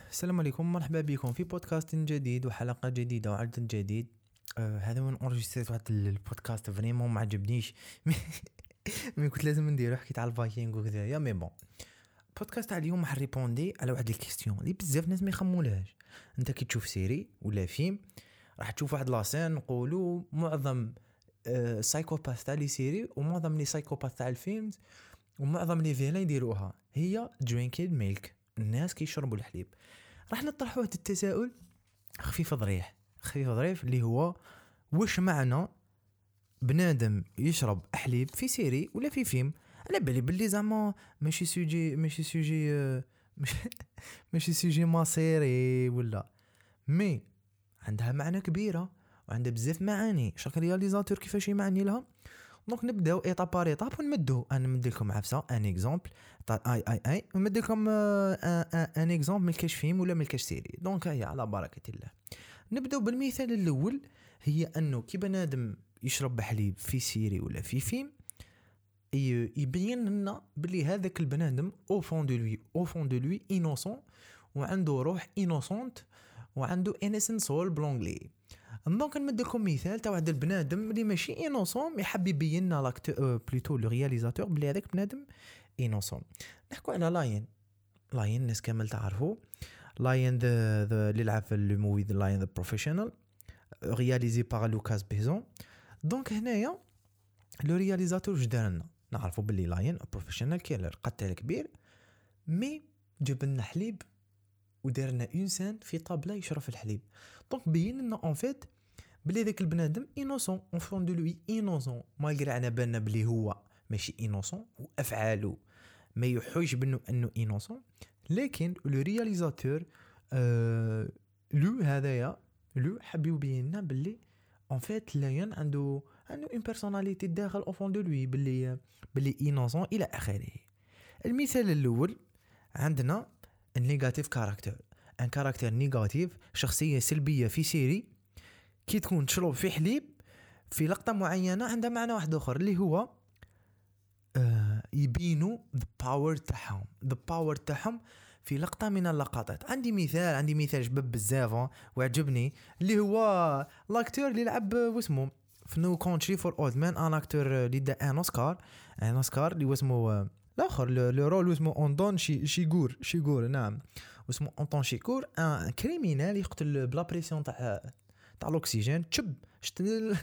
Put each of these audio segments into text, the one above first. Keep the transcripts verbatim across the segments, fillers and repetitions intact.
السلام عليكم، مرحبا بكم في بودكاست جديد وحلقة جديدة وعدد جديد. آه هذا من اورجستريت واحد البودكاست فريمون ما عجبنيش. مي كنت لازم نديرو، حكيت على الفايكينغ وكذا يا مي بون. بودكاست تاع اليوم راح ريبوندي على واحد الكيستيون اللي بزاف ناس ما يخمولهاش. انت كي تشوف سيري ولا فيلم راح تشوف واحد لاسين نقولوا معظم آه سايكوباث تاع لي سيري ومعظم لي سايكوباث تاع الفيلم ومعظم لي فيلان يديروها هي درينكيد ميلك، الناس كيشربوا الحليب. راح نطرح واحد التساؤل خفيف ظريف خفيف ظريف اللي هو واش معنى بنادم يشرب حليب في سيري ولا في فيلم؟ على بالي باللي زعما ماشي سوجي ماشي سوجي ماشي سوجي مصيري ولا مي عندها معنى كبيره وعندها بزاف معاني. شاك رياليزاتور كيفاش يمعني لها. دونك نبداو ايطاب بار ايطاب ونمدو. انا نمد لكم عفسه ان اكزامبل تاع اي اي اي ونمد لكم ان اكزامبل من كاش فيلم ولا من كاش سيري. دونك هيا على بركه الله. نبداو بالمثال الاول، هي انه كي بنادم يشرب حليب في سيري ولا في فيلم يبين لنا بلي هذاك البنادم او فون دو لوي او فون دو لوي انوسون وعنده روح انوسونت وعنده انسنت سول بلونغلي. دونك نمد لكم مثال تاع واحد البنادم اللي ماشي انوسون يحب يبين لنا لاكتور بلوتو لو رياليزاتور بلي هذاك بنادم انوسون. نحكوا على لاين. لاين الناس كامل تعرفوا لاين ذا ذا اللي لعب في الموفي ذا لاين ذا بروفيشنال رياليزي بار لوكاس بيزون. دونك هنايا لو رياليزاتور واش دار لنا؟ نعرفوا باللي لاين بروفيشنال كيلر قتال كبير، مي جاب لنا حليب ودار لنا انسان في طابله يشرب الحليب. دونك بين لنا اون فيت بلي ذاك البنادم انوسون اون فون دو لوي انوسون، مالغري على بالنا بلي هو ماشي انوسون وافعاله ما يحوش بانه انه انوسون، لكن لو رياليزاتور آه لو هذايا لو حب يبين لنا بلي اون فيت لاين عنده عنده اون بيرسوناليتي داخل او فون دو لوي بلي بلي انوسون الى اخره. المثال الاول عندنا النيجاتيف كاركتر، ان كاركتر نيجاتيف، شخصيه سلبيه في سيري كي تكون تشرب في حليب في لقطه معينه عندها معنى واحد اخر اللي هو آه يبينوا the power تاعهم the power تاعهم في لقطه من اللقطات. عندي مثال عندي مثال شباب بزاف وعجبني اللي هو لاكتور اللي لعب واسمه في نو كونتري فور اولد مان، ان اكتور اللي دا ان اوسكار ان اوسكار اللي اسمه الاخر لو رول اسمه اندون شي شيغور شيغور نعم اسمه انطون شيغور، ان كريمينال يقتل بلا بريسيون تاع تاع الاكسجين. تشب شت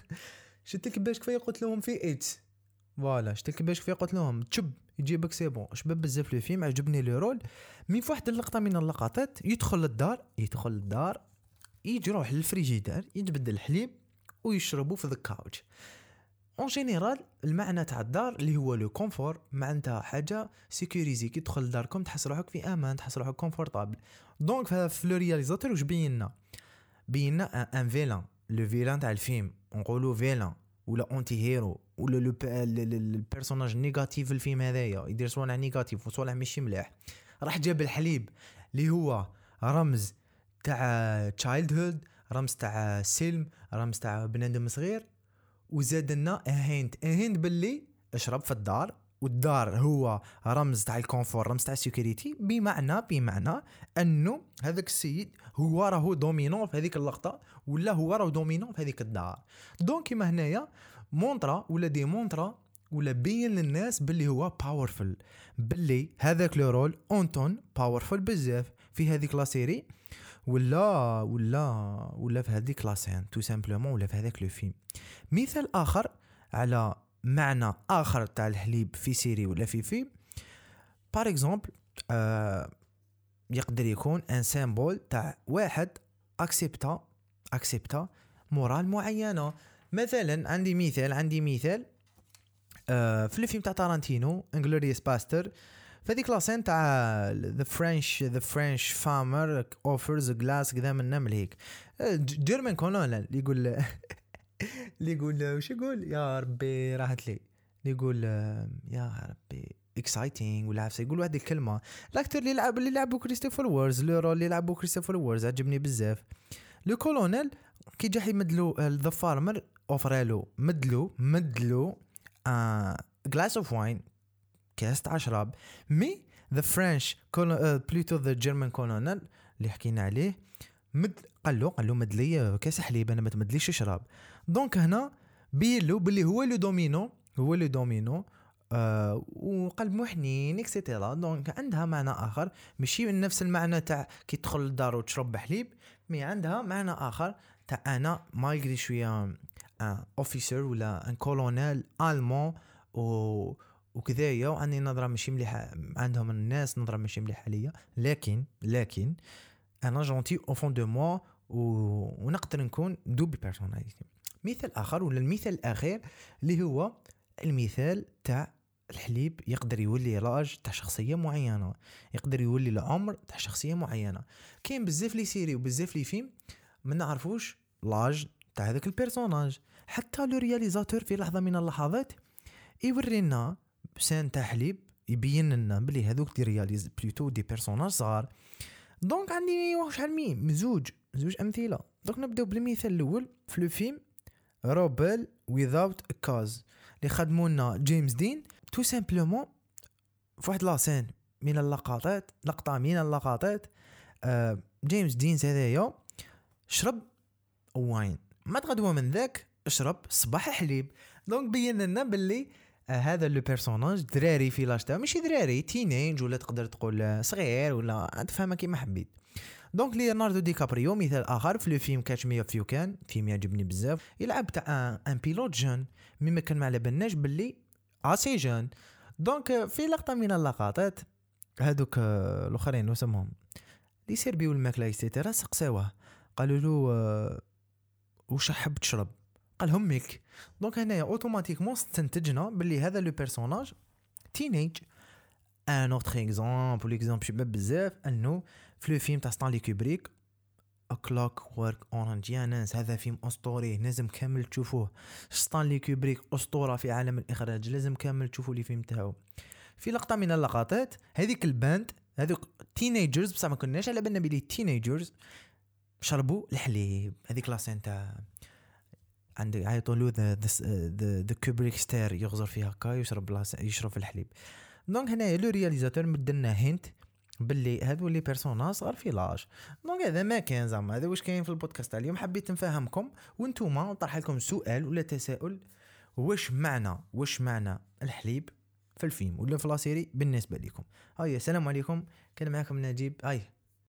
شت الكباش كيف قلت لهم في ايتس فوالا شت الكباش كيف قلت لهم تشب يجيبك سي بون. شباب بزاف لو فيلم عجبني لو رول. مي في واحد اللقطه من اللقطات يدخل للدار يدخل للدار يجي يروح للفريجيدار يتبدل الحليب ويشربوا في الكاوتش. اون جينيرال المعنى تاع الدار اللي هو لو كونفور معناتها حاجه سيكوريزي، كي تدخل لداركم تحس روحك في امان تحس روحك كونفورطابل. دونك في لو رياليزاتور واش بينا بينا ان فيلان لو فيلان تاع الفيلم نقولوا فيلان ولا اونتي هيرو ولا لو البيرسوناج نيجاتيف في الفيلم هذايا يدير صوالح نيجاتيف وصوالح ماشي مليح. راح جاب الحليب اللي هو رمز تاع تشايلد هود، رمز تاع سلم، رمز تاع بنادم صغير، وزاد لنا هينت هينت باللي اشرب في الدار، والدار هو رمز تاع الكونفور رمز تاع السيكوريتي، بمعنى بمعنى انه هذاك السيد هو راهو دومينون في هذيك اللقطه ولا هو راهو دومينون في هذيك الدار. دونك كيما هنايا مونطرا ولا دي مونطرا ولا بين للناس باللي هو باورفل، باللي هذاك لو رول اونتون باورفل بزاف في هذيك لا سيري ولا ولا ولا في هذيك لا سين تو سامبلومون ولا في هذاك لو فيلم. مثال اخر على معنى اخر تاع الحليب في سيري ولا في فيلم بار اكزومبل آه يقدر يكون ان سيمبول تاع واحد اكسبتا اكسبتا مورال معينه. مثلا عندي مثال عندي مثال آه في الفيلم تاع تارانتينو انغلوريوس باستر، فهذيك لاسين تاع ذا فرنش ذا فرنش فارمر اوفرز جلاس كذا من نمل هيك جيرمان كولونيل اللي يقول اللي يقول وش يقول يا ربي راحت لي اللي يقول يا ربي اكسايتينغ ولا عفسه يقول واحد الكلمه. الاكتور اللي لعب اللي لعبوا كريستوفر وورز لو رول اللي لعبوا كريستوفر وورز عجبني بزاف. لو كولونيل كي جا يمدلو ذا فارمر اوفرالو مدلو مدلو ا جلاس اوف واين كاس تاع شراب، مي ذا فرنش بلوتو ذا جيرمان كولونيل اللي حكينا عليه مد قال له قال له مد لي كاس حليب انا ما تمدليش اشرب. دونك هنا بين له باللي هو لو دومينو هو لو دومينو آه وقلب محنين اكسيتيرا. دونك عندها معنى اخر ماشي من نفس المعنى تاع كي تدخل للدار وتشرب حليب، مي عندها معنى اخر تاع انا مالغري شويه ان اوفيسر ولا ان كولونيل المون و وكذايا وعندي نظره ماشي مليحه عندهم الناس نظره ماشي مليحه ليا، لكن لكن انا جونتي او فون دو موا ونقدر نكون دوبي بيرسوناليتي. مثال اخر ولا المثال الاخير اللي هو المثال تاع الحليب يقدر يولي لاج تاع شخصيه معينه، يقدر يولي العمر تاع شخصيه معينه. كاين بزاف لي سيري وبزاف لي فيلم ما نعرفوش لاج تاع هذاك البيرسوناج، حتى لو رياليزاتور في لحظه من اللحظات يورينا بسان تاع حليب يبين لنا بلي هذوك دي رياليز بلوتو دي بيرسوناج صغار. دونك عندي واش شحال مين مزوج زوج امثله. دونك نبداو بالمثال الاول في لو فيلم روبل without a cause اللي خدموا لنا جيمس دين تو سامبلومون في واحد لاسين من اللقطات لقطه من اللقطات آه جيمس دين هذايا شرب واين ما تغدوا من ذاك اشرب صباح حليب. دونك بين لنا باللي آه هذا لو بيرسوناج دراري في لاشتا ماشي دراري تينيج ولا تقدر تقول صغير ولا تفهمها كيما حبيت. دونك ليوناردو دي كابريو مثال اخر في لو فيلم كاتش مي اف يو كان فيلم يعجبني بزاف يلعب تاع ان بيلوت جون مما كان ما على بالناش باللي اسي جون. دونك في لقطه من اللقطات هذوك الاخرين وسمهم لي سيربيو الماكله ايتترا سقساوه قالوا له واش حاب تشرب قال همك. دونك هنايا اوتوماتيكمون استنتجنا باللي هذا لو بيرسوناج تينيج. ان اوتر اكزامبل اكزامبل شباب بزاف انه في لو فيلم تاع ستانلي كوبريك كلوك وورك اورنج يا ناس هذا فيلم اسطوري لازم كامل تشوفوه. ستانلي كوبريك اسطوره في عالم الاخراج لازم كامل تشوفوا لي فيلم تاعو. في لقطه من اللقطات هذيك الباند هذوك تينيجرز بصح ما كناش على بالنا بلي تينيجرز شربوا الحليب. هذيك لاسين تاع عند يعيطوا له ذا ذا ذا كوبريك ستار يغزر فيها هكا يشرب يشرب في الحليب. دونك هنا لو رياليزاتور مدلنا هنت باللي هذو لي بيرسوناج صار في لاج. دونك هذا ما كان زعما هذا واش كاين في البودكاست تاع اليوم. حبيت نفهمكم وانتوما نطرح لكم سؤال ولا تساؤل واش معنى واش معنى الحليب في الفيلم ولا في لا سيري بالنسبه لكم. هاي السلام عليكم كان معكم نجيب. هاي